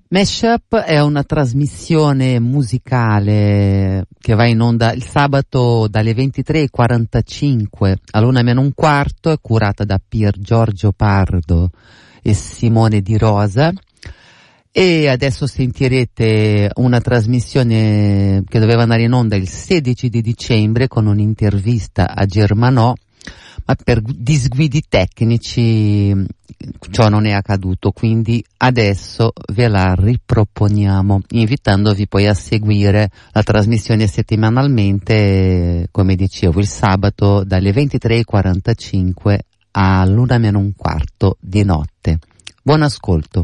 Mashup è una trasmissione musicale che va in onda il sabato dalle 23:45 all'1:15, è curata da Pier Giorgio Pardo e Simone Di Rosa. E adesso sentirete una trasmissione che doveva andare in onda il 16 di dicembre con un'intervista a Germanò, ma per disguidi tecnici ciò non è accaduto, quindi adesso ve la riproponiamo, invitandovi poi a seguire la trasmissione settimanalmente, come dicevo, il sabato dalle 23:45 all'1:15 di notte. Buon ascolto.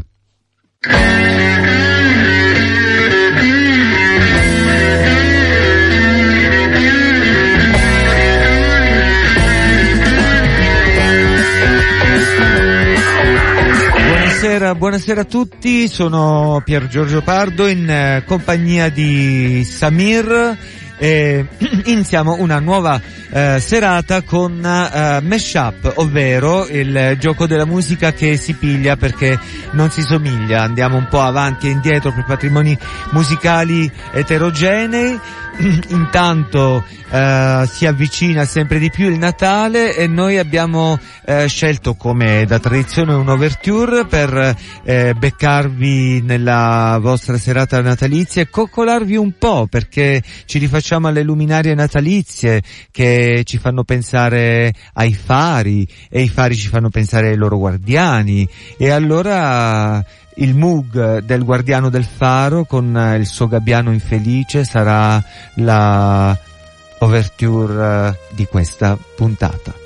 Buonasera a tutti, sono Pier Giorgio Pardo in compagnia di Samir. Iniziamo una nuova serata con Mashup, ovvero il gioco della musica che si piglia perché non si somiglia. Andiamo un po' avanti e indietro per patrimoni musicali eterogenei. Intanto si avvicina sempre di più il Natale e noi abbiamo scelto, come da tradizione, un overture per beccarvi nella vostra serata natalizia e coccolarvi un po', perché ci rifacciamo alle luminarie natalizie che ci fanno pensare ai fari e i fari ci fanno pensare ai loro guardiani, e allora il Moog del Guardiano del Faro con il suo gabbiano infelice sarà la overture di questa puntata.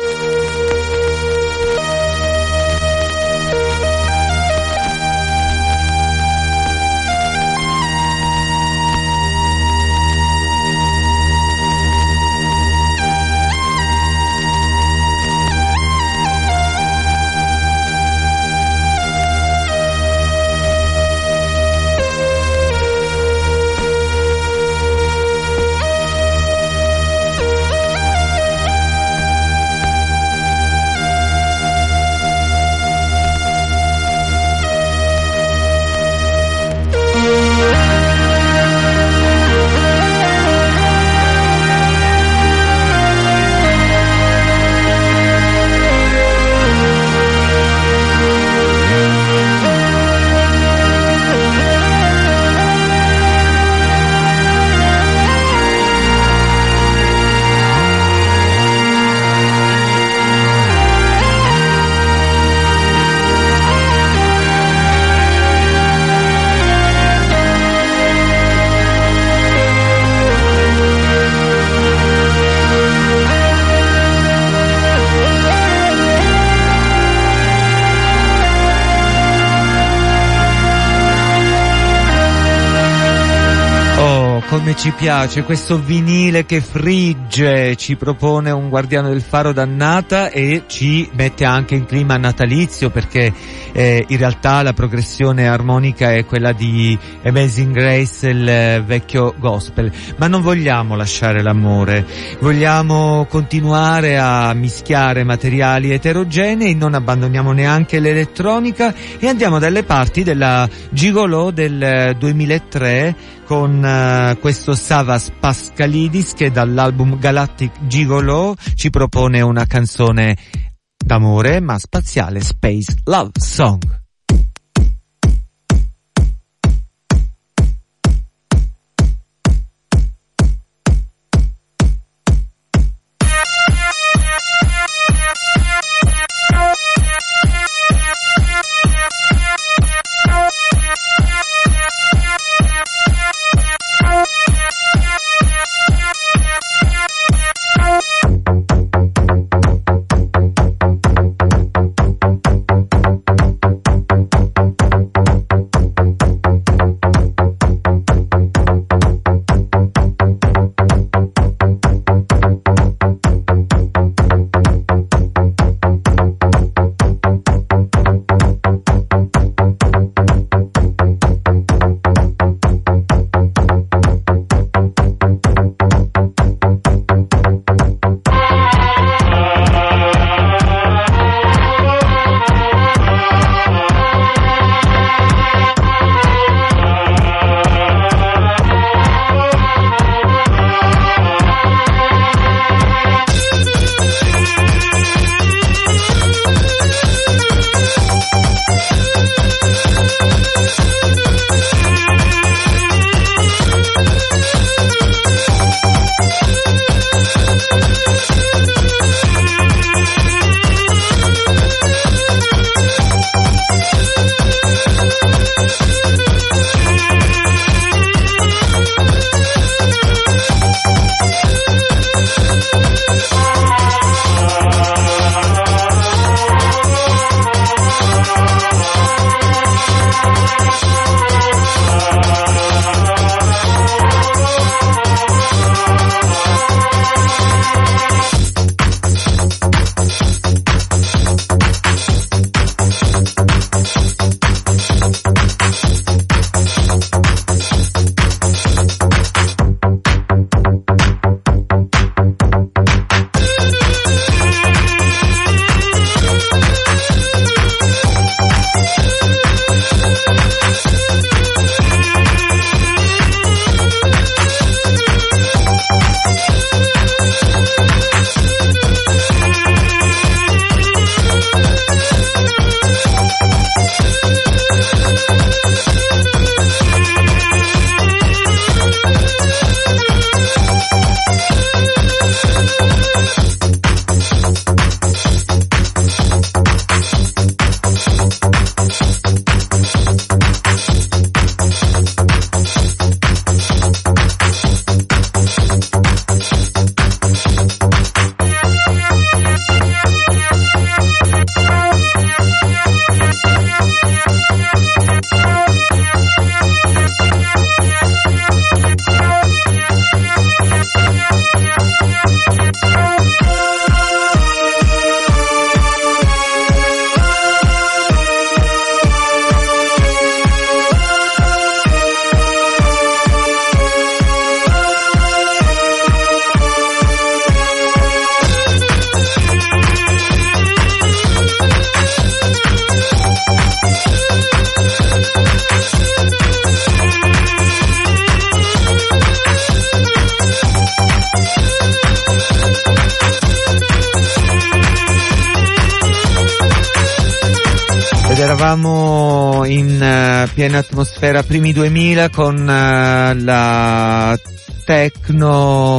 Come ci piace questo vinile che frigge, ci propone un Guardiano del Faro dannata e ci mette anche in clima natalizio, perché in realtà la progressione armonica è quella di Amazing Grace, il vecchio gospel. Ma non vogliamo lasciare l'amore, vogliamo continuare a mischiare materiali eterogenei, non abbandoniamo neanche l'elettronica e andiamo dalle parti della Gigolò del 2003 con questo Savas Pascalidis che dall'album Galactic Gigolò ci propone una canzone d'amore ma spaziale, Space Love Song. Eravamo in piena atmosfera primi 2000 con la techno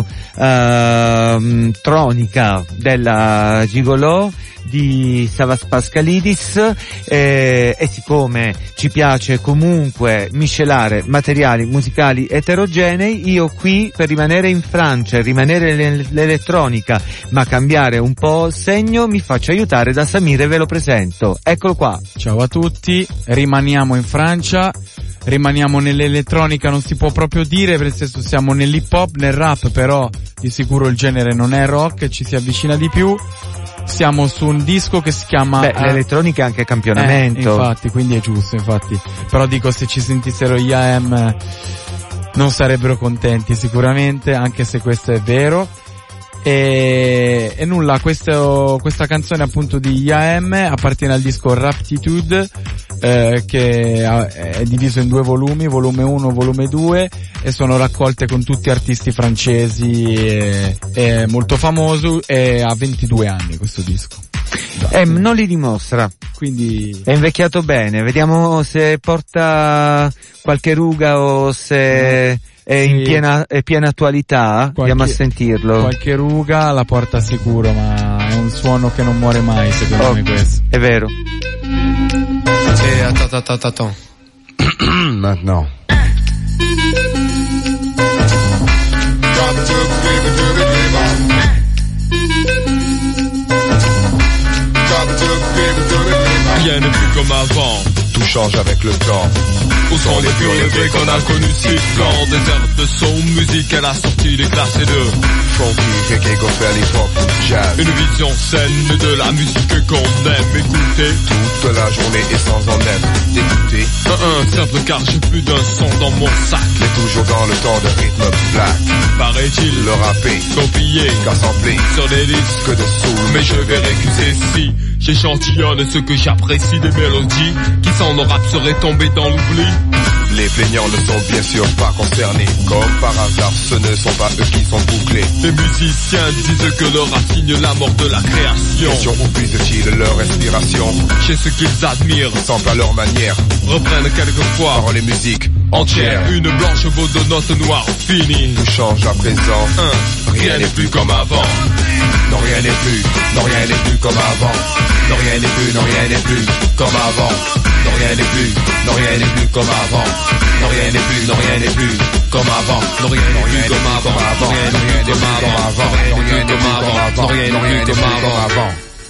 tronica della Gigolò di Savas Pascalidis, e siccome ci piace comunque miscelare materiali musicali eterogenei, io qui per rimanere in Francia, rimanere l'elettronica ma cambiare un po' segno, mi faccio aiutare da Samir e ve lo presento. Eccolo qua. Ciao a tutti, rimaniamo in Francia, rimaniamo nell'elettronica, non si può proprio dire, nel senso siamo nell'hip hop, nel rap, però di sicuro il genere non è rock, ci si avvicina di più. Siamo su un disco che si chiama... l'elettronica è anche campionamento. Infatti, quindi è giusto, infatti. Però dico, se ci sentissero gli AM non sarebbero contenti sicuramente, anche se questo è vero. E nulla, questa canzone appunto di IAM appartiene al disco Raptitude, che è diviso in 2 volumi, volume 1 e volume 2, e sono raccolte con tutti artisti francesi, è molto famoso, e ha 22 anni questo disco. Non li dimostra, quindi è invecchiato bene, vediamo se porta qualche ruga o se è in piena attualità. Andiamo a sentirlo. Qualche ruga la porta sicuro, ma è un suono che non muore mai, secondo me questo. È vero. Attends. Maintenant. Rien n'est plus comme avant, tout change avec le temps. Où sont les purs élevés qu'on a connus si blancs? Des airs de son, musique à la sortie des classes et de funky, reggae, gospel, hip-hop, jazz. Une vision saine de la musique qu'on aime écouter toute la journée et sans en être dégoûté. Simple car j'ai plus d'un son dans mon sac, mais toujours dans le temps de rythme black. Paraît-il, le rapper, copier, car sampler sur des disques de soul. Mais je vais récuser si j'échantillonne ce que j'apprécie des mélodies qui sans nos rap seraient tombés dans l'oubli. Les Les plaignants ne sont bien sûr pas concernés. Comme par hasard, ce ne sont pas eux qui sont bouclés. Les musiciens disent que leur assigne la mort de la création. Question où puisent-ils leur inspiration? Chez ceux qu'ils admirent, semble à leur manière, reprennent quelquefois paroles et musique entières. Une blanche vaut de notes noires finies. Tout change à présent, rien n'est plus comme avant. Non, rien n'est plus, non, rien n'est plus comme avant. Non, rien n'est plus, non, rien n'est plus comme avant. Non, rien n'est plus, non, rien n'est plus comme avant. Non, rien n'est plus, non, rien n'est plus comme avant. Non, rien n'est plus comme avant. Rien n'est plus comme avant. Rien n'est plus comme avant. Rien n'est plus comme avant.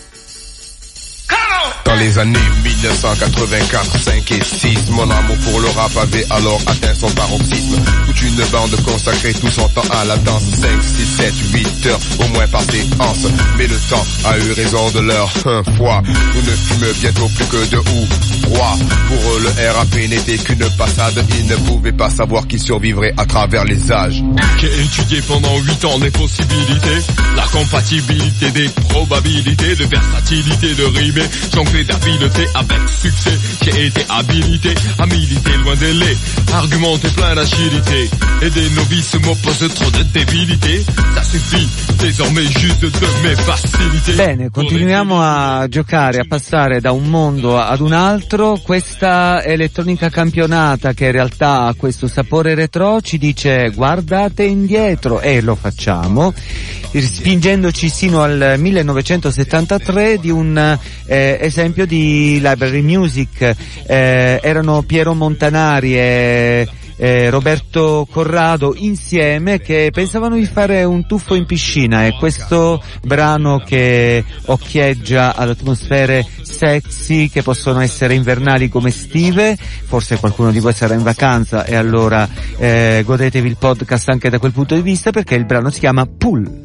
Dans les années 1984, 5 et 6, mon amour pour le rap avait alors atteint son paroxysme. Toute une bande consacrée tout son temps à la danse. 5, 6, 7, 8 heures au moins par séance. Mais le temps a eu raison de leur foi. Nous ne fûmes bientôt plus que de froid. Pour eux le RAP n'était qu'une passade. Ils ne pouvaient pas savoir qu'ils survivraient à travers les âges. J'ai étudié pendant 8 ans les possibilités, la compatibilité des probabilités, de versatilité, de rimer, jongler d'habileté avec succès. J'ai été habilité à militer loin des laits, argumenter plein d'agilité. Et des novices m'opposent trop de débilité. Ça suffit désormais juste de mes facilités. Bene, continuiamo a giocare, a passare da un mondo ad un altro. Questa elettronica campionata, che in realtà ha questo sapore retro, ci dice guardate indietro, e lo facciamo, spingendoci sino al 1973 di un esempio di library music. Erano Piero Montanari e Roberto Corrado insieme che pensavano di fare un tuffo in piscina, e questo brano che occhieggia ad atmosfere sexy che possono essere invernali come estive. Forse qualcuno di voi sarà in vacanza e allora godetevi il podcast anche da quel punto di vista, perché il brano si chiama Pool.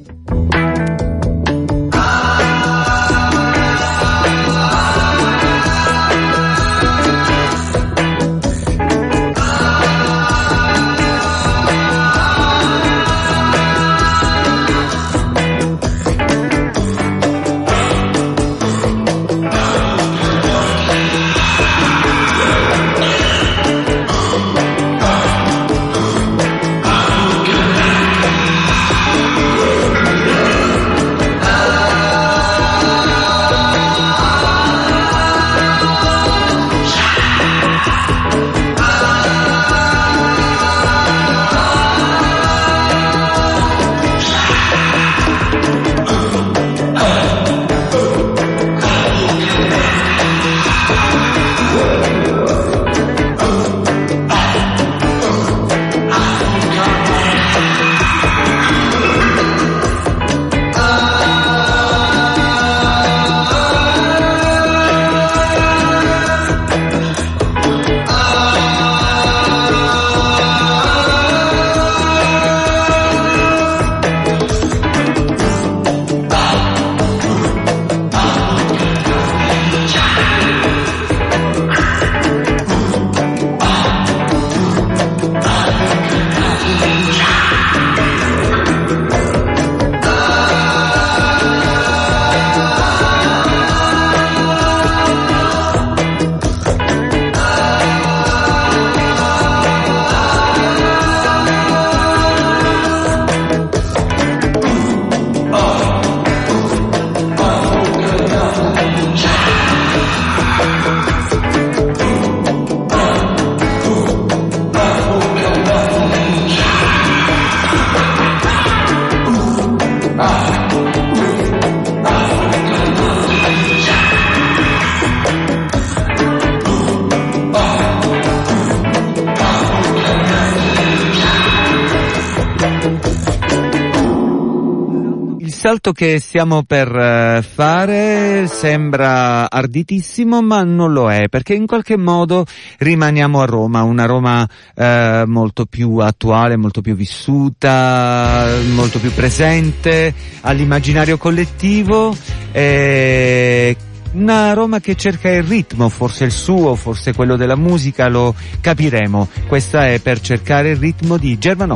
Il salto che stiamo per fare sembra arditissimo, ma non lo è, perché in qualche modo rimaniamo a Roma, una Roma molto più attuale, molto più vissuta, molto più presente all'immaginario collettivo, una Roma che cerca il ritmo, forse il suo, forse quello della musica, lo capiremo. Questa è Per cercare il ritmo di Germanò.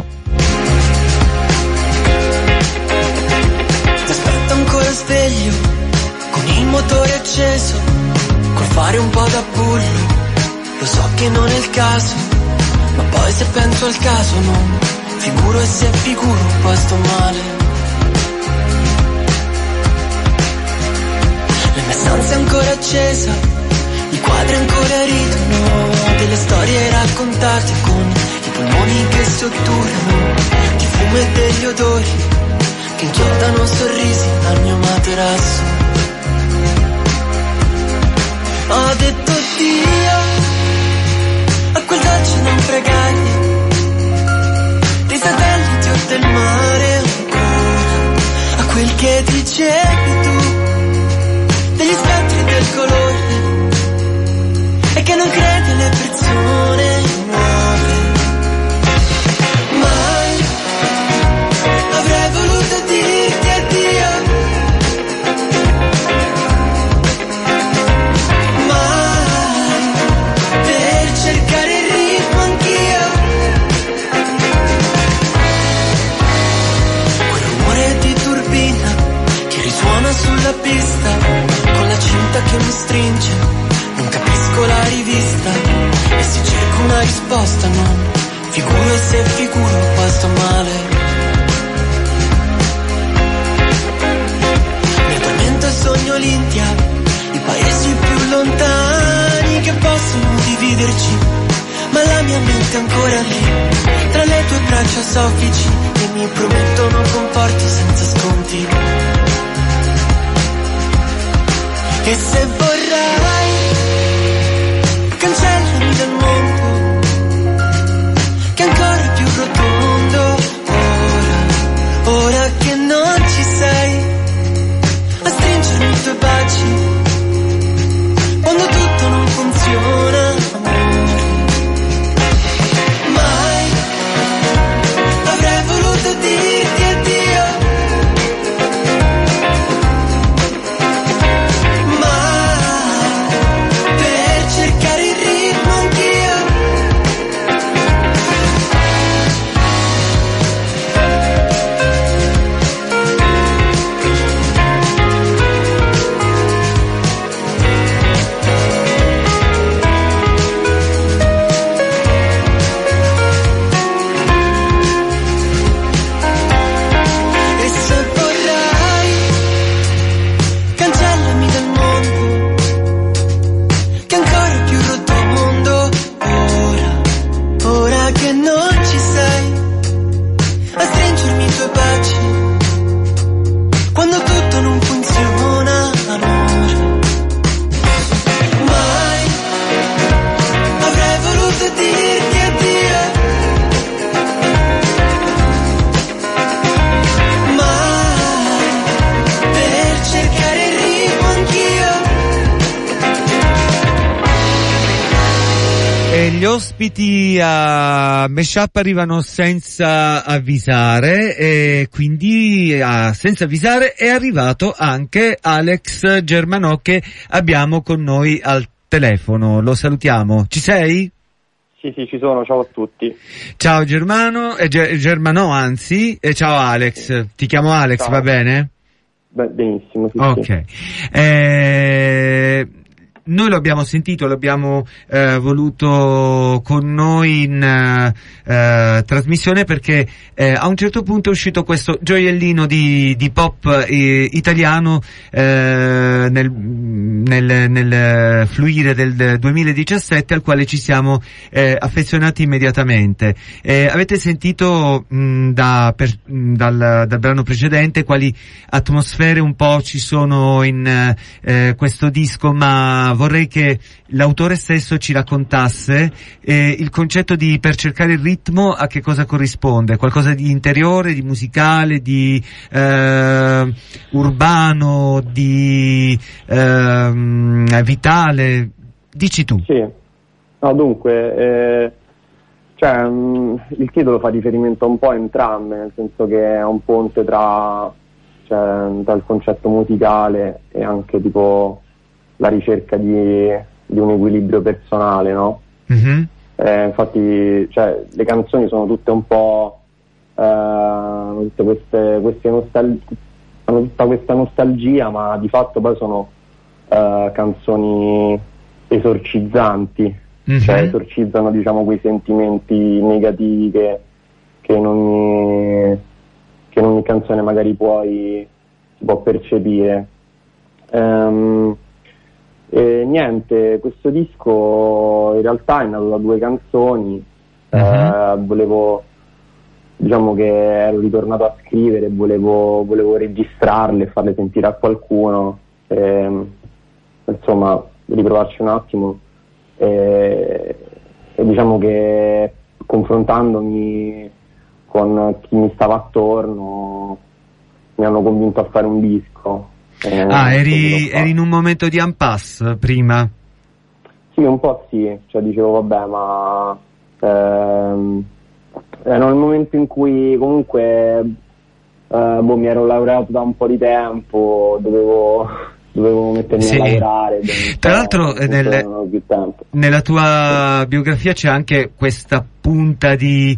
Sveglio, con il motore acceso, col fare un po' da bullo, lo so che non è il caso, penso al caso, non figuro e se figuro poi sto male. La mia stanza è ancora accesa, i quadri ancora ridono, delle storie raccontate con i polmoni che si otturano, di fumo e degli odori che inchiodano sorrisi al mio materasso. Ho detto Dio a quel dolce naufragario dei satelliti o del mare, ancora a quel che dicevi tu degli spettri del colore e che non crede alle persone nuove. Mai avrei voluto dirti addio, mai per cercare il ritmo anch'io. Quel rumore di turbina che risuona sulla pista, con la cinta che mi stringe, non capisco la rivista e se cerco una risposta non figuro e se figuro poi sto male. Mi addormento e sogno l'India, i paesi più lontani che possono dividerci, ma la mia mente è ancora lì, tra le tue braccia soffici che mi promettono conforto senza sconti. E se vorrai cancellami dal mondo che è ancora più rotondo, ora che non ci sei, a stringermi i tuoi baci quando tutto non funziona, amore. Mai avrei voluto dirti addio, Gli ospiti a Meshup arrivano senza avvisare e quindi senza avvisare è arrivato anche Alex Germanò che abbiamo con noi al telefono. Lo salutiamo. Ci sei? Sì, ci sono, ciao a tutti. Ciao Germano, Germanò anzi, e ciao Alex. Ti chiamo Alex, ciao. Va bene? Benissimo, sì. Ok. Noi lo abbiamo sentito, l'abbiamo voluto con noi in trasmissione perché a un certo punto è uscito questo gioiellino di pop italiano nel fluire del 2017 al quale ci siamo affezionati immediatamente. Avete sentito dal brano precedente quali atmosfere un po' ci sono in questo disco, ma vorrei che l'autore stesso ci raccontasse il concetto di per cercare il ritmo a che cosa corrisponde, qualcosa di interiore, di musicale, di urbano, di vitale, dici tu. Sì, no, dunque il titolo fa riferimento un po' a entrambe, nel senso che è un ponte tra il concetto musicale e anche tipo la ricerca di un equilibrio personale, no? Mm-hmm. Infatti, le canzoni sono tutte un po' tutte queste hanno tutta questa nostalgia, ma di fatto poi sono canzoni esorcizzanti, cioè esorcizzano, diciamo, quei sentimenti negativi che in ogni canzone magari si può percepire. E niente, questo disco in realtà è nato da 2 canzoni. Diciamo che ero ritornato a scrivere, volevo registrarle e farle sentire a qualcuno, insomma riprovarci un attimo, e diciamo che confrontandomi con chi mi stava attorno mi hanno convinto a fare un disco. Eri in un momento di impasse prima? Sì, un po' sì, cioè dicevo vabbè, ma era il momento in cui comunque mi ero laureato da un po' di tempo, dovevo mettermi a lavorare. Tra l'altro nella tua biografia c'è anche questa punta di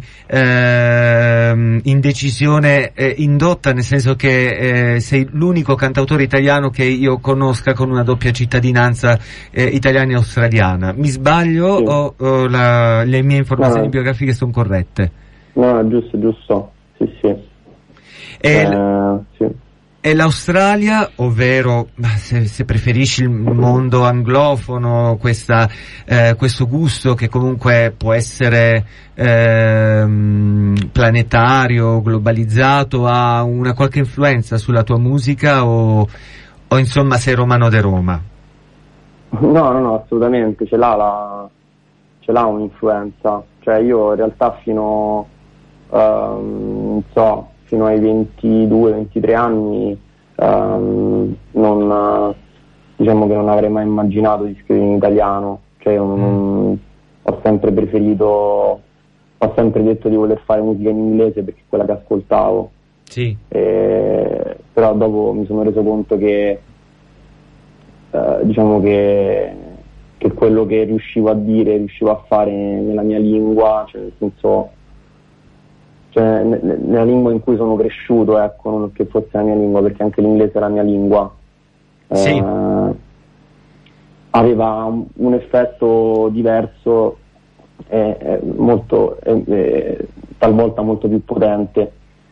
indecisione indotta, nel senso che sei l'unico cantautore italiano che io conosca con una doppia cittadinanza italiana e australiana. Mi sbaglio? Sì. O le mie informazioni biografiche sono corrette? No, giusto, sì. Sì. E l'Australia, ovvero, se preferisci il mondo anglofono, questo gusto che comunque può essere planetario, globalizzato, ha una qualche influenza sulla tua musica o insomma sei romano de Roma? No, assolutamente, ce l'ha un'influenza. Cioè io in realtà fino ai 22-23 anni diciamo che non avrei mai immaginato di scrivere in italiano, cioè ho sempre detto di voler fare musica in inglese perché è quella che ascoltavo. Sì. Però dopo mi sono reso conto che diciamo che quello che riuscivo a dire, riuscivo a fare nella mia lingua, cioè nel senso, nella lingua in cui sono cresciuto, ecco, non che fosse la mia lingua, perché anche l'inglese è la mia lingua, sì. Aveva un effetto diverso talvolta molto più potente,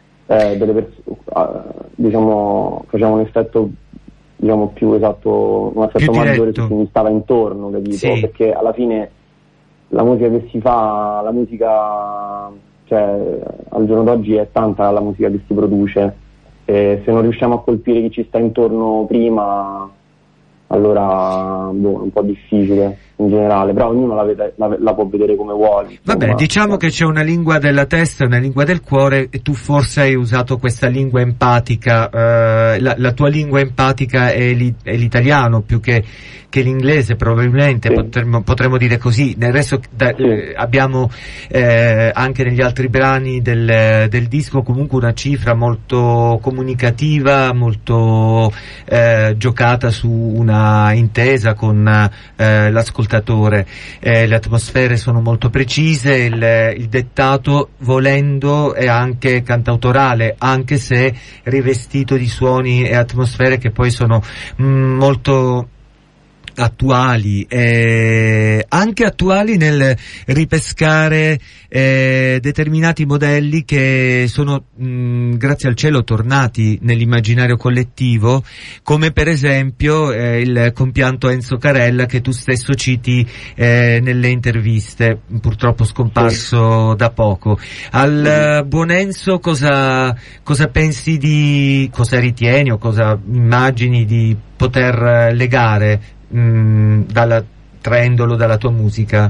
diciamo faceva un effetto, diciamo, più esatto, un effetto maggiore su chi mi stava intorno, capito? Sì. Perché alla fine la musica che si fa, la musica, cioè al giorno d'oggi è tanta la musica che si produce, e se non riusciamo a colpire chi ci sta intorno prima, allora è un po' difficile in generale, però ognuno la può vedere come vuole. Vabbè, diciamo che c'è una lingua della testa e una lingua del cuore, e tu forse hai usato questa lingua empatica, la tua lingua empatica è l'italiano più che l'inglese, probabilmente, sì. Potremmo dire così. Nel resto abbiamo anche negli altri brani del disco comunque una cifra molto comunicativa, molto giocata su una intesa con l'ascoltatore. Le atmosfere sono molto precise, il dettato, volendo, è anche cantautorale, anche se rivestito di suoni e atmosfere che poi sono molto attuali, anche attuali nel ripescare determinati modelli che sono grazie al cielo tornati nell'immaginario collettivo, come per esempio il compianto Enzo Carella che tu stesso citi nelle interviste, purtroppo scomparso da poco. Al buon Enzo cosa pensi cosa ritieni o cosa immagini di poter legare traendolo dalla tua musica?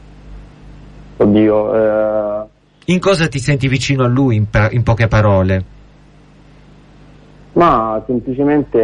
Oddio, in cosa ti senti vicino a lui, in poche parole? Ma semplicemente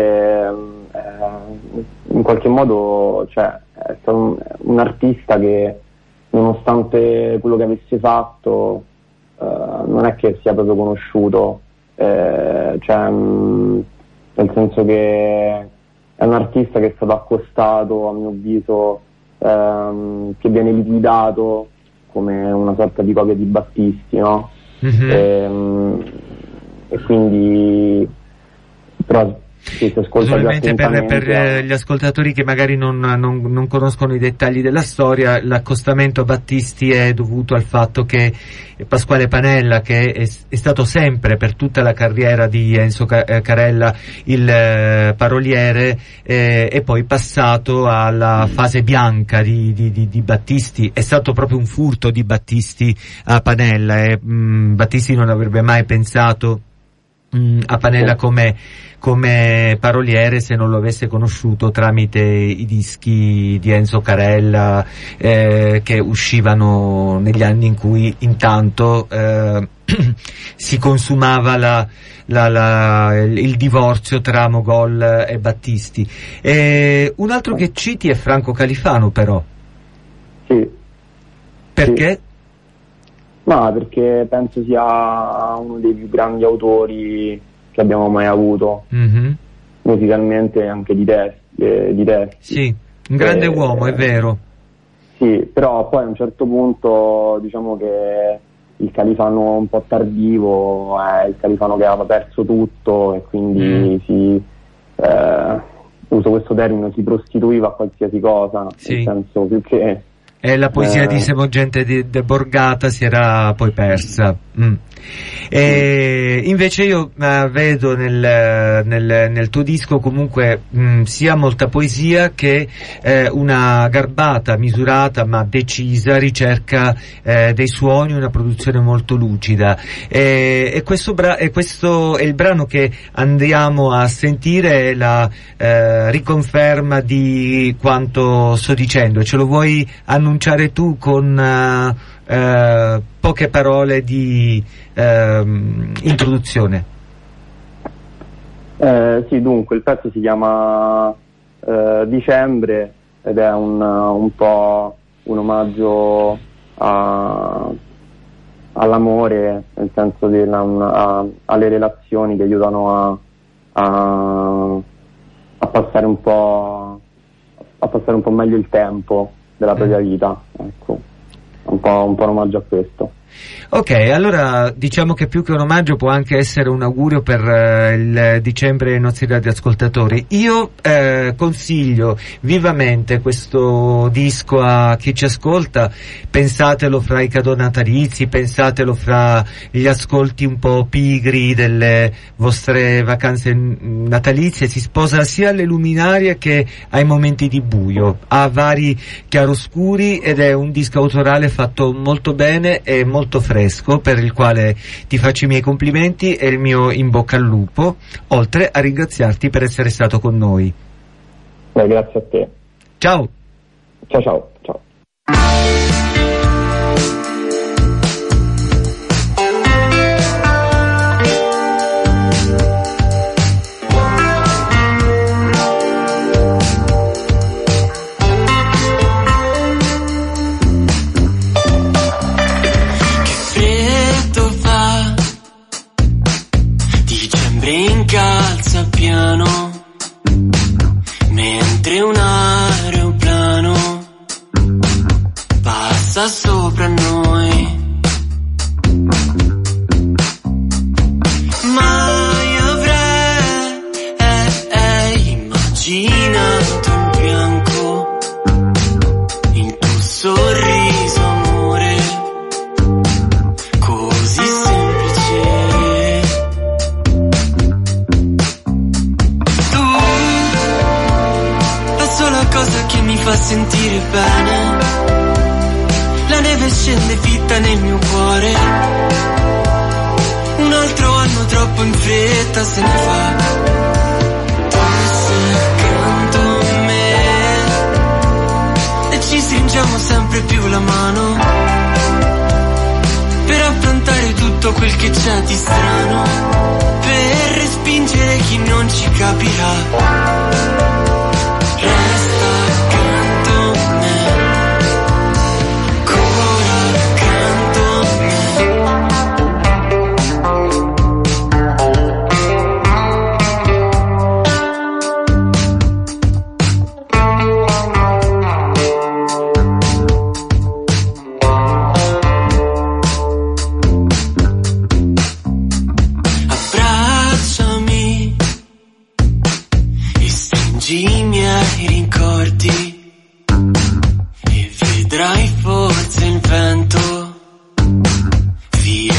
in qualche modo, cioè, è stato un artista che, nonostante quello che avesse fatto, non è che sia proprio conosciuto, cioè, nel senso che è un artista che è stato accostato, a mio avviso, che viene liquidato come una sorta di copia di Battisti, no? E quindi, però Sì, si ascolta solamente per attentamente. gli ascoltatori che magari non conoscono i dettagli della storia, l'accostamento a Battisti è dovuto al fatto che Pasquale Panella, che è stato sempre per tutta la carriera di Enzo Carella il paroliere, è poi passato alla fase bianca di Battisti. È stato proprio un furto di Battisti a Panella, e Battisti non avrebbe mai pensato a Panella come paroliere se non lo avesse conosciuto tramite i dischi di Enzo Carella che uscivano negli anni in cui intanto si consumava il divorzio tra Mogol e Battisti. Un altro che citi è Franco Califano, però. Sì. Perché? Sì. Ma perché penso sia uno dei più grandi autori che abbiamo mai avuto, musicalmente e anche di testi. Sì, un grande uomo, è vero. Sì, però poi a un certo punto diciamo che il Califano un po' tardivo è il Califano che aveva perso tutto e quindi uso questo termine, si prostituiva a qualsiasi cosa, nel senso più che... E la poesia di Semogente de Borgata si era poi persa. E invece io vedo nel tuo disco comunque sia molta poesia che una garbata, misurata ma decisa ricerca dei suoni, una produzione molto lucida. E questo è il brano che andiamo a sentire, è la riconferma di quanto sto dicendo. Ce lo vuoi annunciare tu con poche parole di introduzione? Sì, dunque il pezzo si chiama Dicembre ed è un po' un omaggio all'amore, nel senso alle relazioni che aiutano a passare un po' meglio il tempo della propria vita, ecco. Un po' un omaggio a questo. Ok, allora diciamo che più che un omaggio può anche essere un augurio per il dicembre ai nostri radioascoltatori. Io consiglio vivamente questo disco a chi ci ascolta, pensatelo fra i cadeau natalizi, pensatelo fra gli ascolti un po' pigri delle vostre vacanze natalizie, si sposa sia alle luminarie che ai momenti di buio, ha vari chiaroscuri ed è un disco autorale fatto molto bene e molto fresco, per il quale ti faccio i miei complimenti e il mio in bocca al lupo, oltre a ringraziarti per essere stato con noi. Grazie a te. Ciao. Ciao. Incalza piano mentre un aeroplano passa sopra noi. Mai avrei immaginato in bianco il tuo sorriso, amore, così semplice. Cosa che mi fa sentire bene, la neve scende fitta nel mio cuore, un altro anno troppo in fretta se ne fa, tu sei accanto a me e ci stringiamo sempre più la mano per affrontare tutto quel che c'è di strano, per respingere chi non ci capirà. Resta accanto a me, ancora accanto a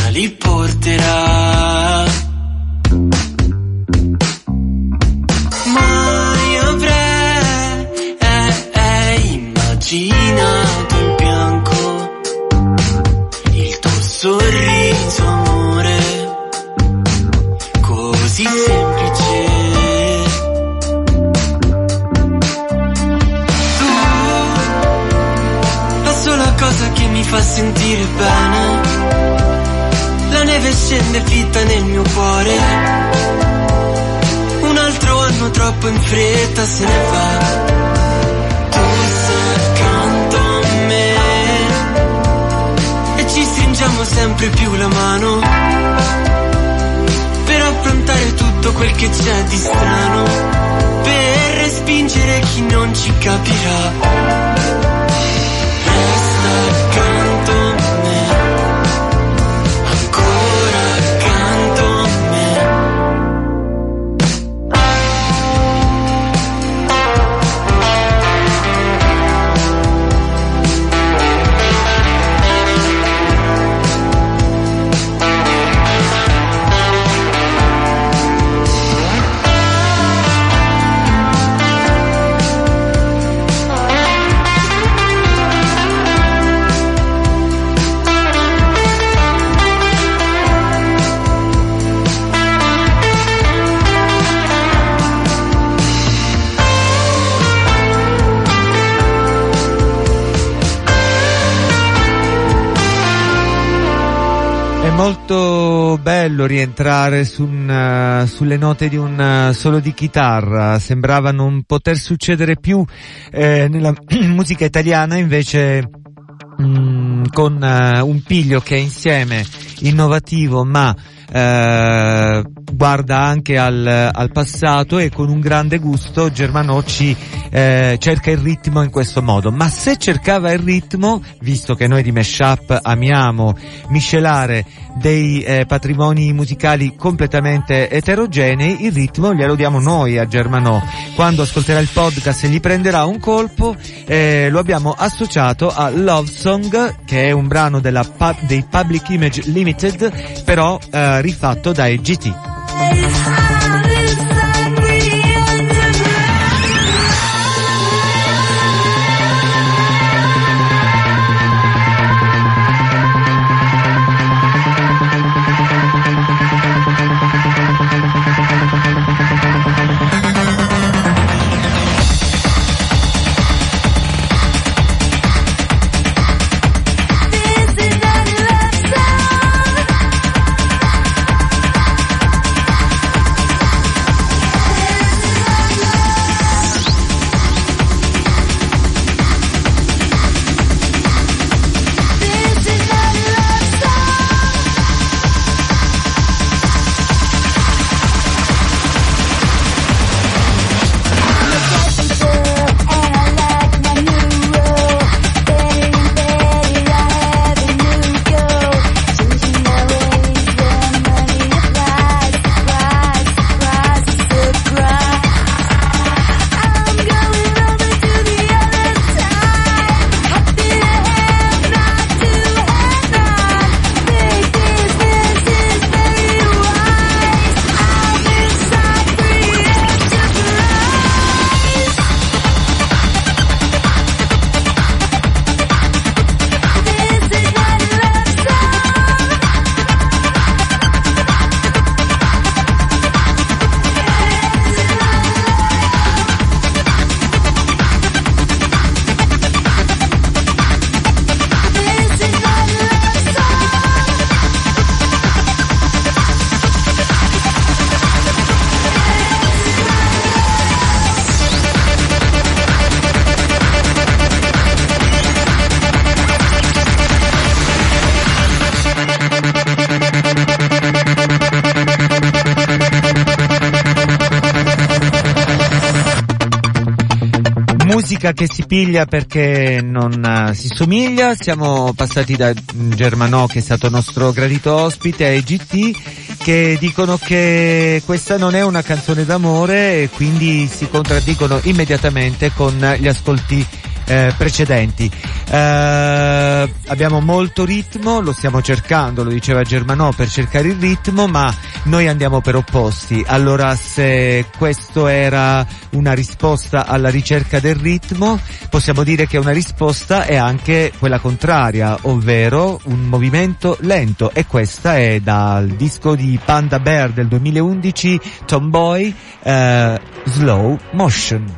li porterà. Mai avrei immaginato in bianco il tuo sorriso, amore, così semplice. Tu, la sola cosa che mi fa sentire bene, la neve scende fitta nel mio cuore, un altro anno troppo in fretta se ne va. Tu sei accanto a me e ci stringiamo sempre più la mano per affrontare tutto quel che c'è di strano, per respingere chi non ci capirà. Resta accanto a me, ancora accanto a me. Molto bello rientrare sulle note di un solo di chitarra. Sembrava non poter succedere più nella musica italiana, invece con un piglio che è insieme innovativo ma guarda anche al passato, e con un grande gusto Germanò ci cerca il ritmo in questo modo. Ma se cercava il ritmo, visto che noi di Mashup amiamo miscelare dei patrimoni musicali completamente eterogenei, il ritmo glielo diamo noi a Germanò. Quando ascolterà il podcast e gli prenderà un colpo, lo abbiamo associato a Love Song, che è un brano dei Public Image Limited, però rifatto dai GT. Musica che si piglia perché non si somiglia. Siamo passati da Germanò, che è stato nostro gradito ospite, ai GT, che dicono che questa non è una canzone d'amore, e quindi si contraddicono immediatamente con gli ascolti precedenti. Abbiamo molto ritmo, lo stiamo cercando, lo diceva Germanò, per cercare il ritmo, ma noi andiamo per opposti. Allora, se questo era una risposta alla ricerca del ritmo, possiamo dire che una risposta è anche quella contraria, ovvero un movimento lento, e questa è dal disco di Panda Bear del 2011, Tomboy, Slow Motion.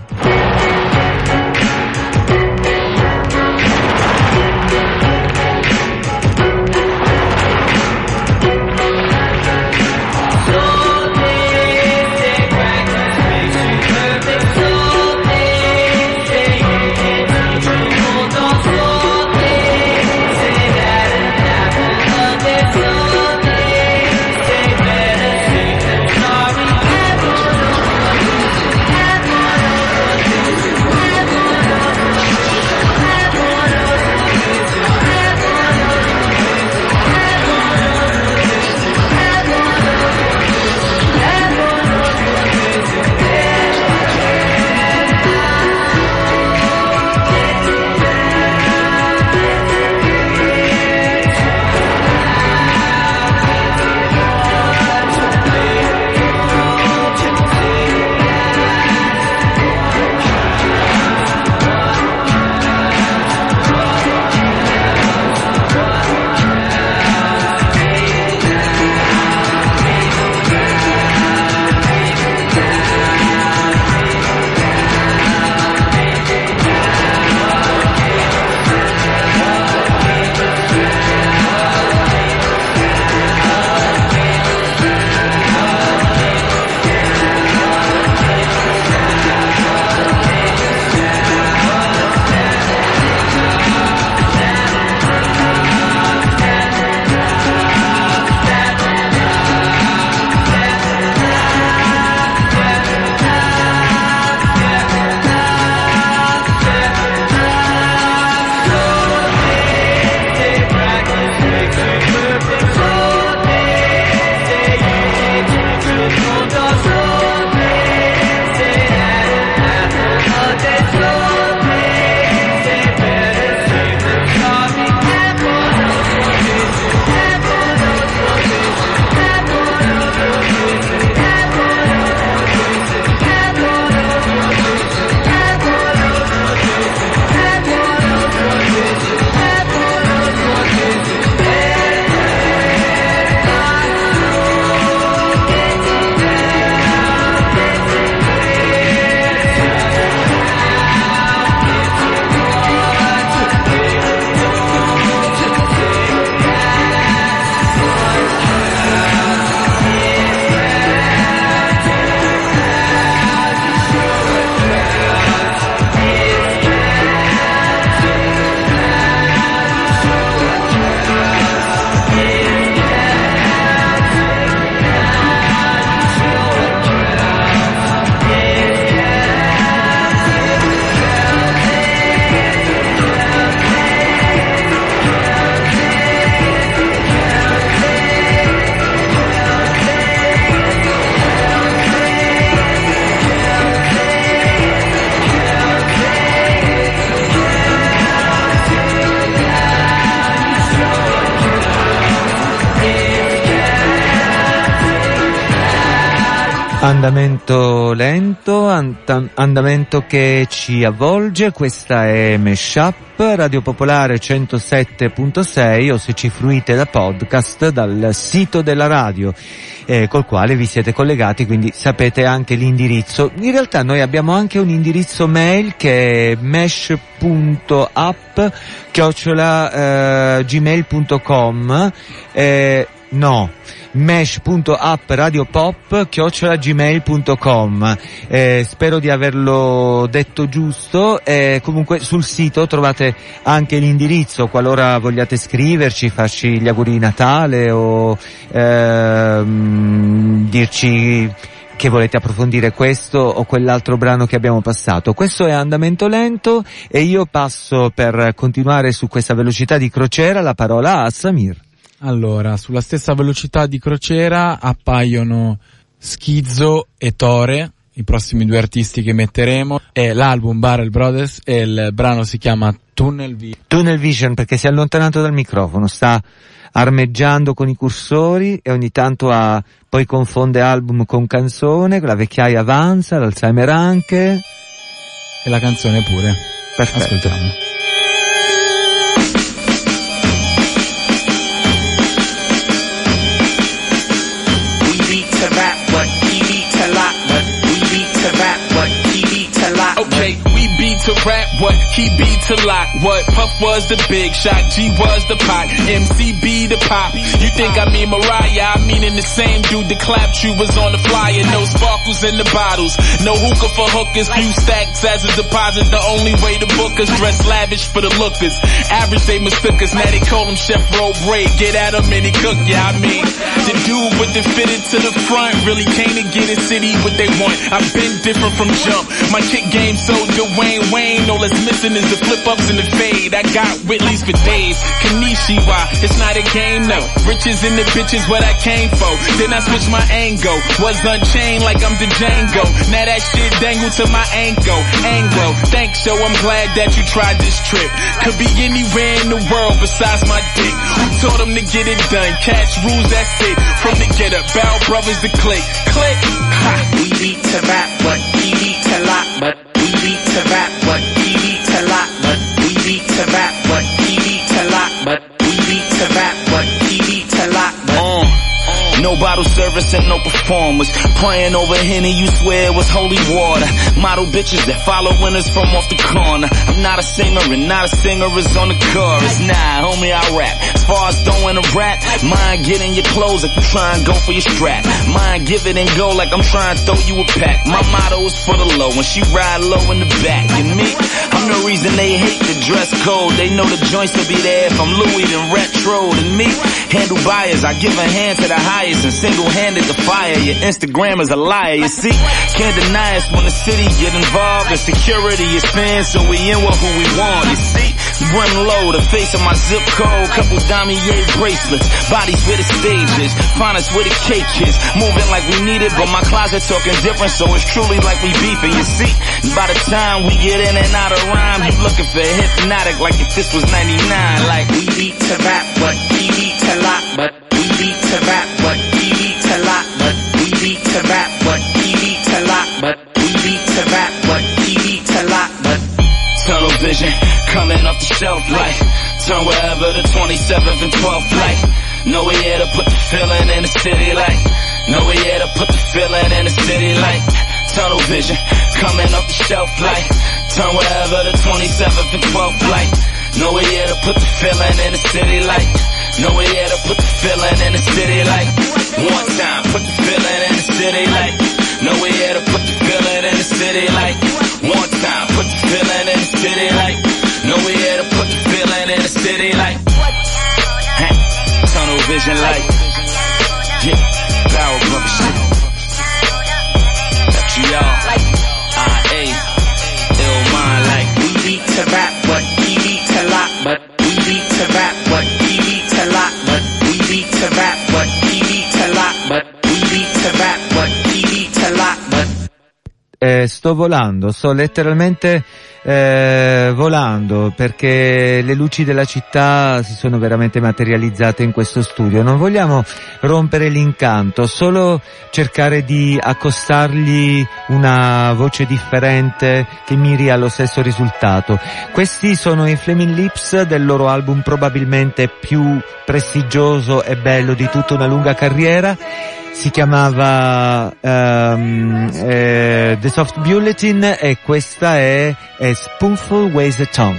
Andamento lento, andamento che ci avvolge. Questa è Meshup, Radio Popolare 107.6, o se ci fruite da podcast dal sito della radio, col quale vi siete collegati, quindi sapete anche l'indirizzo. In realtà noi abbiamo anche un indirizzo mail che è mesh.app@gmail.com, mesh.appradiopop@gmail.com. Spero di averlo detto giusto. Comunque sul sito trovate anche l'indirizzo qualora vogliate scriverci, farci gli auguri di Natale o dirci che volete approfondire questo o quell'altro brano che abbiamo passato. Questo è Andamento Lento e io passo, per continuare su questa velocità di crociera, la parola a Samir. Allora, sulla stessa velocità di crociera appaiono Schizzo e Tore i prossimi 2 artisti che metteremo, è l'album Barrel Brothers e il brano si chiama Tunnel Vision, perché si è allontanato dal microfono, sta armeggiando con i cursori e ogni tanto poi confonde album con canzone, la vecchiaia avanza, l'Alzheimer anche e la canzone pure. Perfetto. Ascoltiamo. Okay, we beat to rap, what? He beat to lock, what? Puff was the big shot, G was the pot, MCB the pop. You think I mean Mariah, I mean in the same dude that clapped you was on the flyer. No sparkles in the bottles, no hookah for hookers, few stacks as a deposit. The only way to book us, dress lavish for the lookers. Average they mistook us, now they call him Chef Robre. Get at him and he cook, yeah I mean. The dude with the fitted to the front really came to get a city what they want. I've been different from jump, my kick game so Dwayne Wayne. All that's missing is the flip ups and the fade. I got Whitley's for days. Kanishiwa, it's not a game, no. Riches in the bitches, what I came for. Then I switched my angle. Was unchained like I'm the Django. Now that shit dangled to my ankle. Anglo, thanks yo, I'm glad that you tried this trip. Could be anywhere in the world besides my dick. Who told them to get it done? Cash rules, that's it. From the get up, Bow Brothers to click. Click. Ha. We beat to rap, but he beat to lock, but we beat to rap, but he beat to lock, but we beat to rap, but he beat to lock, but we beat to rap, but he beat to lock, but no bottle service and no performers. Praying over Henny, you swear it was holy water. Model bitches that follow winners from off the corner. I'm not a singer and not a singer is on the chorus. Nah, homie, I rap. As far as throwing a rap, mine get in your clothes like you try and go for your strap. Mine give it and go like I'm trying to throw you a pack. My motto is for the low when she ride low in the back. And me, I'm the reason they hate the dress code. They know the joints will be there if I'm Louis and retro. And me, handle buyers, I give a hand to the highest and single-handed the fire. Your Instagram is a liar, you see. Can't deny us when the city get involved. And security is thin, so we in with who we want, you see. Run low, the face of my zip code. Couple damier bracelets, bodies where the stage is, find us where the cake is. Moving like we need it, but my closet talking different, so it's truly like we beefing, you see. By the time we get in and out of rhyme, you looking for Hypnotic like if this was 99. Like we beat to rap, but he beat to lock, but we beat to rap, but he beat to lock, but we beat to rap, but he beat to lock, but we beat to rap, but he beat to lock, but tunnel vision coming off the shelf like turn wherever the 27th and 12th like. Know we here to put the feeling in the city like. Know we here to put the feeling in the city like. Tunnel vision coming off the shelf like turn wherever the 27th and 12th like. Know we here to put the feeling in the city like. Know we here to put the feeling in the city like. One time, put the feeling in the city like. Know we here to put the feeling in the city like. One time, put the feeling in the city like. Know we here to put the feeling in the city like. Tunnel vision like. Yeah, Power Brother shit. That's y'all. I.A. Ill mind like. We beat to rap, but he beat to lock, but we beat to rap, but he beat to lock, but we beat to rap, but he beat to lock, but we beat to rap, but he beat to lock, but sto volando, sto letteralmente volando perché le luci della città si sono veramente materializzate in questo studio. Non vogliamo rompere l'incanto, solo cercare di accostargli una voce differente che miri allo stesso risultato. Questi sono i Flaming Lips del loro album probabilmente più prestigioso e bello di tutta una lunga carriera. Si chiamava The Soft Bulletin e questa è A Spoonful Weighs a Ton.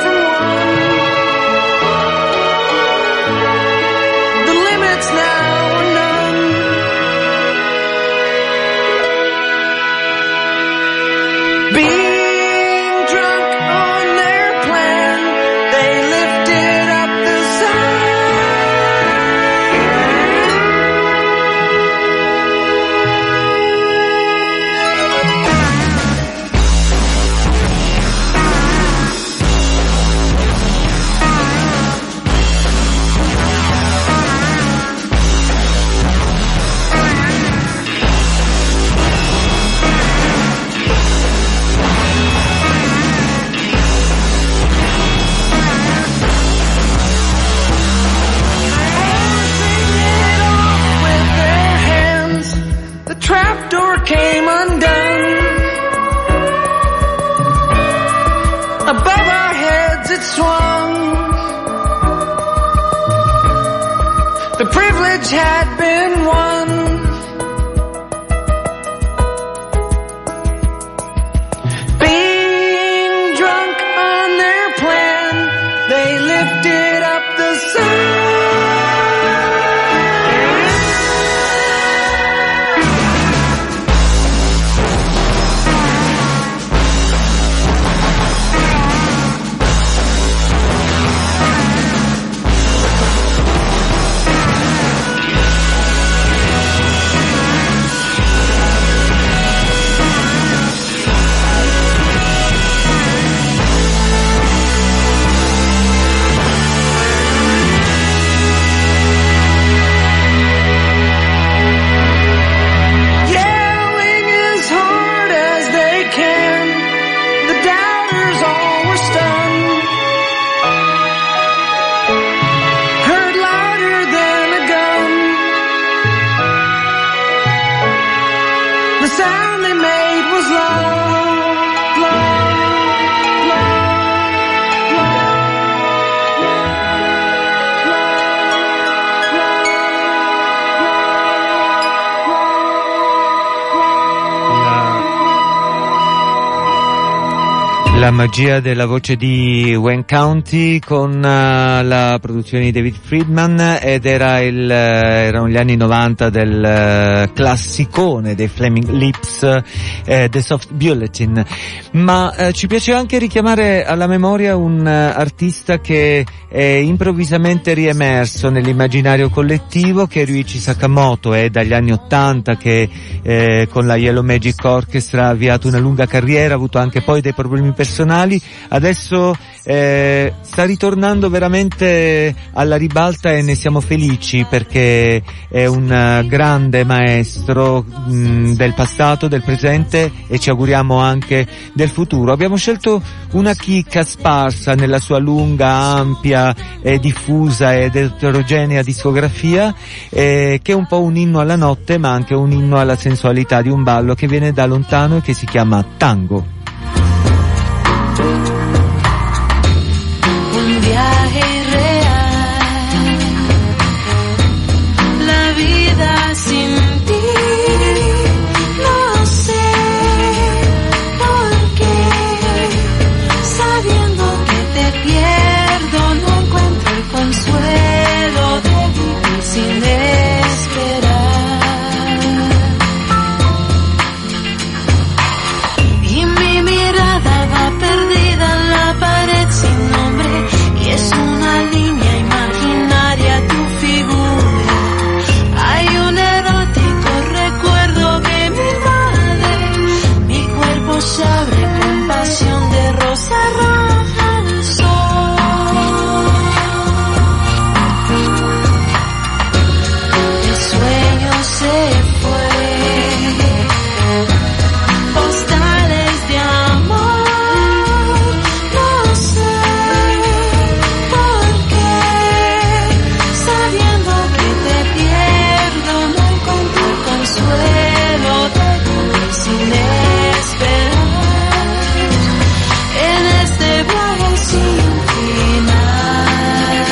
now which had been won. Being drunk on their plan, they lifted up the sun. La magia della voce di Wayne County con la produzione di David Friedman, ed erano gli anni 90 del classicone dei Flaming Lips, The Soft Bulletin. Ma ci piace anche richiamare alla memoria un artista che è improvvisamente riemerso nell'immaginario collettivo, che è Ryuichi Sakamoto. È dagli anni 80 che con la Yellow Magic Orchestra ha avviato una lunga carriera, ha avuto anche poi dei problemi personali. Adesso sta ritornando veramente alla ribalta e ne siamo felici, perché è un grande maestro del passato, del presente e ci auguriamo anche del futuro. Abbiamo scelto una chicca sparsa nella sua lunga, ampia e diffusa ed eterogenea discografia, che è un po' un inno alla notte ma anche un inno alla sensualità di un ballo che viene da lontano e che si chiama tango. Un viaje irreal, la vida sin ti, no sé por qué, sabiendo que te pierdo no encuentro el consuelo de vivir sin esperar. Y mi mirada va perdida en la pared sin nombre, y es una línea imaginaria tu figura. Hay un erótico recuerdo que me invade, mi cuerpo se abre con pasión de rosa roja al sol. El sueño se fue, postales de amor, no sé por qué, sabiendo que te pierdo no encuentro el consuelo de vivir sin esperar, en este viaje sin final.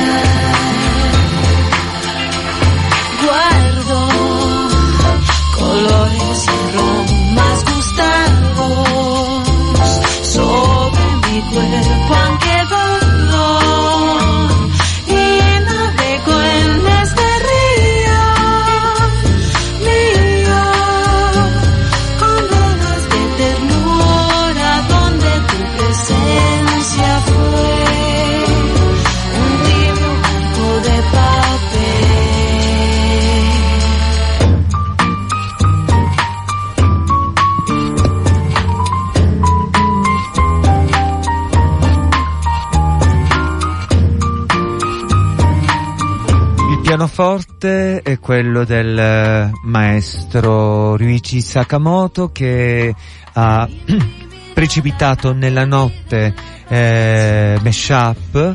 Guardo colores y aromas gustados sobre mi cuerpo, aunque dudo, y navego en este río mío, con olas de ternura donde tu presencia fue un tibio banco de papel. Il pianoforte è quello del maestro Ryuichi Sakamoto, che ha precipitato nella notte mashup,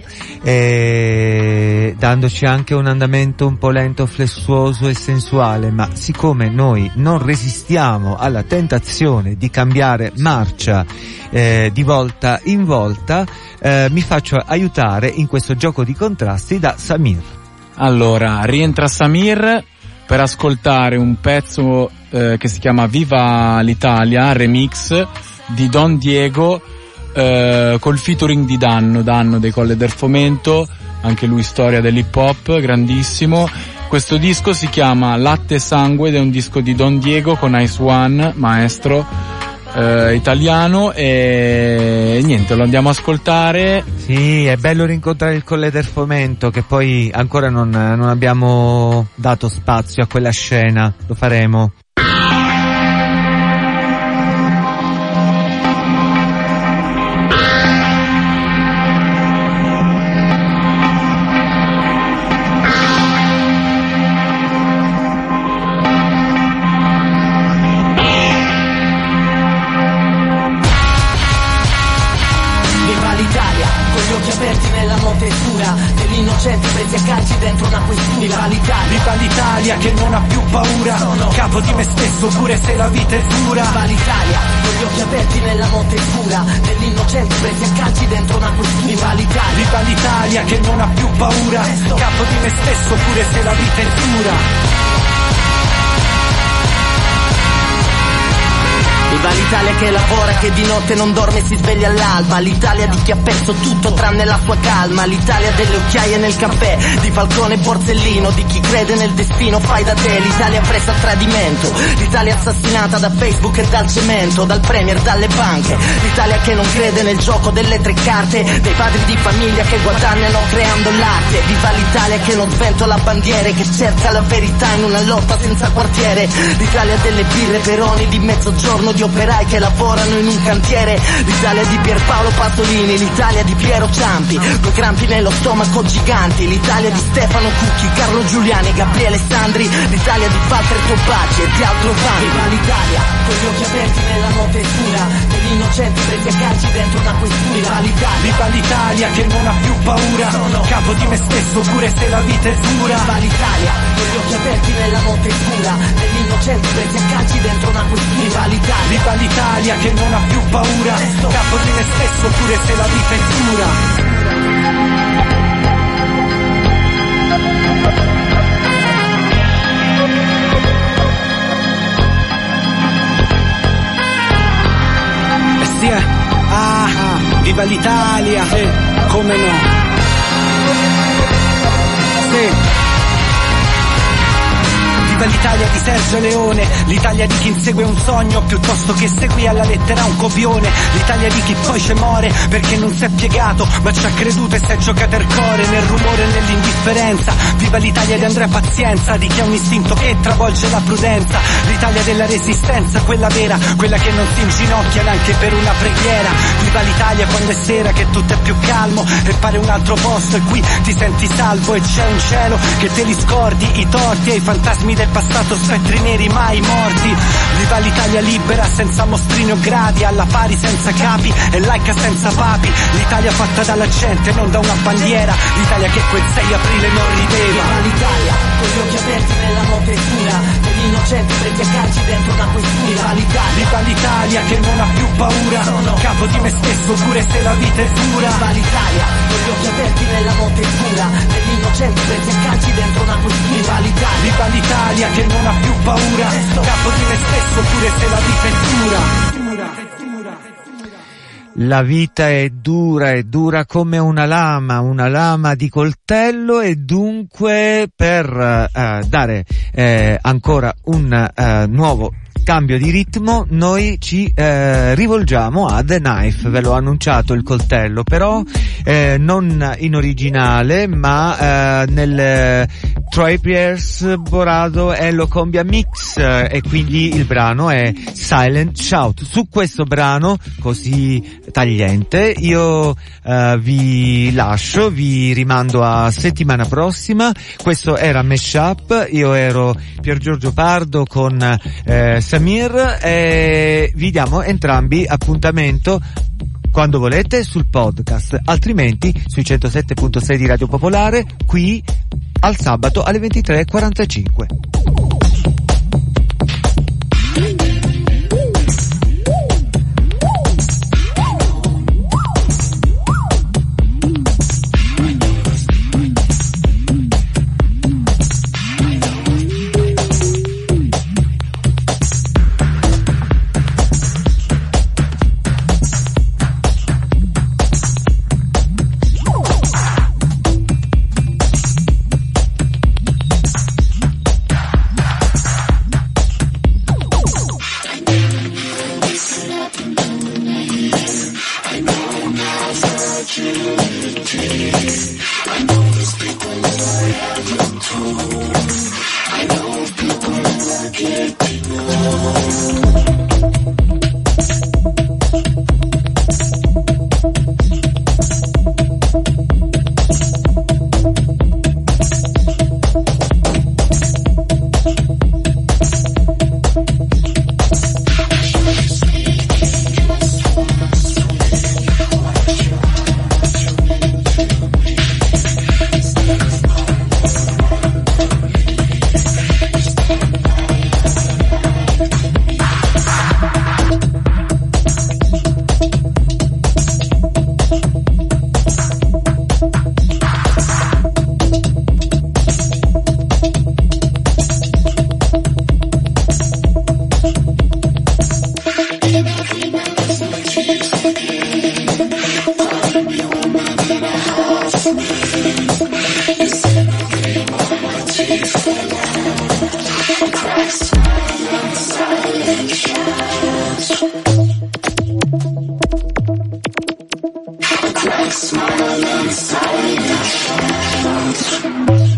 dandoci anche un andamento un po' lento, flessuoso e sensuale. Ma siccome noi non resistiamo alla tentazione di cambiare marcia di volta in volta, mi faccio aiutare in questo gioco di contrasti da Samir. Allora, rientra Samir per ascoltare un pezzo che si chiama Viva l'Italia, remix di Don Diego col featuring di Danno dei Colle del Fomento, anche lui storia dell'hip hop, grandissimo. Questo disco si chiama Latte e Sangue ed è un disco di Don Diego con Ice One, maestro italiano, e niente, lo andiamo a ascoltare. Sì, è bello rincontrare il Colle del Fomento, che poi ancora non abbiamo dato spazio a quella scena, lo faremo. Presi a calci dentro una questura. Viva l'Italia che non ha più paura, sono capo di me stesso pure se la vita è dura. Viva l'Italia con gli occhi aperti nella notte scura, dell'innocenti presi a calci dentro una questura. Viva l'Italia che non ha più paura, capo di me stesso pure se la vita è dura. Viva l'Italia che lavora, che di notte non dorme e si sveglia all'alba. L'Italia di chi ha perso tutto tranne la sua calma. L'Italia delle occhiaie nel caffè, di Falcone e Borsellino, di chi crede nel destino fai da te. L'Italia presa a tradimento, l'Italia assassinata da Facebook e dal cemento, dal premier, dalle banche. L'Italia che non crede nel gioco delle tre carte, dei padri di famiglia che guadagnano creando l'arte. Viva l'Italia che non sventola bandiere, che cerca la verità in una lotta senza quartiere. L'Italia delle birre Peroni di mezzogiorno, di operai che lavorano in un cantiere. L'Italia di Pierpaolo Pasolini, l'Italia di Piero Ciampi, due crampi nello stomaco giganti. L'Italia di Stefano Cucchi, Carlo Giuliani, Gabriele Sandri. L'Italia di Walter Tobacci e di altro vanti. Viva l'Italia con gli occhi aperti nella notte scura, degli innocenti presi a calci dentro una questura. Viva l'Italia che non ha più paura, sono capo di me stesso pure se la vita è dura. Viva l'Italia con gli occhi aperti nella notte scura, degli innocenti presi a calci dentro una questura. Viva l'Italia che non ha più paura, capo di me stesso pure se la vita è dura. Sì, viva l'Italia, come no? Sì. Viva l'Italia di Sergio Leone, l'Italia di chi insegue un sogno piuttosto che segui alla lettera un copione. L'Italia di chi poi ci muore perché non si è piegato ma ci ha creduto e si è giocato il cuore nel rumore e nell'indifferenza. Viva l'Italia di Andrea Pazienza, di chi ha un istinto che travolge la prudenza. L'Italia della resistenza, quella vera, quella che non si inginocchia neanche per una preghiera. Viva l'Italia quando è sera che tutto è più calmo e pare un altro posto e qui ti senti salvo e c'è un cielo che te li scordi, i torti e i fantasmi del passato, spettri neri mai morti. Viva l'Italia libera senza mostrini o gradi, alla pari senza capi e laica senza papi. L'Italia fatta dalla gente non da una bandiera, l'Italia che quel 6 aprile non rideva. Viva l'Italia con gli occhi aperti nella notte scura, degli innocenti presi a calci dentro una questura. Viva l'Italia che non ha più paura, sono capo di me stesso pure se la vita è dura. Viva l'Italia con gli occhi aperti nella notte scura, degli innocenti presi a calci dentro una questura. Viva l'Italia che non ha più paura, capo di me stesso pure se la vita è dura. La vita è dura come una lama di coltello, e dunque per dare ancora un nuovo cambio di ritmo noi ci rivolgiamo a The Knife. Ve l'ho annunciato il coltello, però non in originale ma nel Troy Pierce Borado e lo Combia Mix, e quindi il brano è Silent Shout. Su questo brano così tagliente io vi lascio, vi rimando a settimana prossima. Questo era Meshup, io ero Pier Giorgio Pardo con Samir, e vi diamo entrambi appuntamento quando volete sul podcast, altrimenti sui 107.6 di Radio Popolare, qui al sabato alle 23:45. Like smiling inside.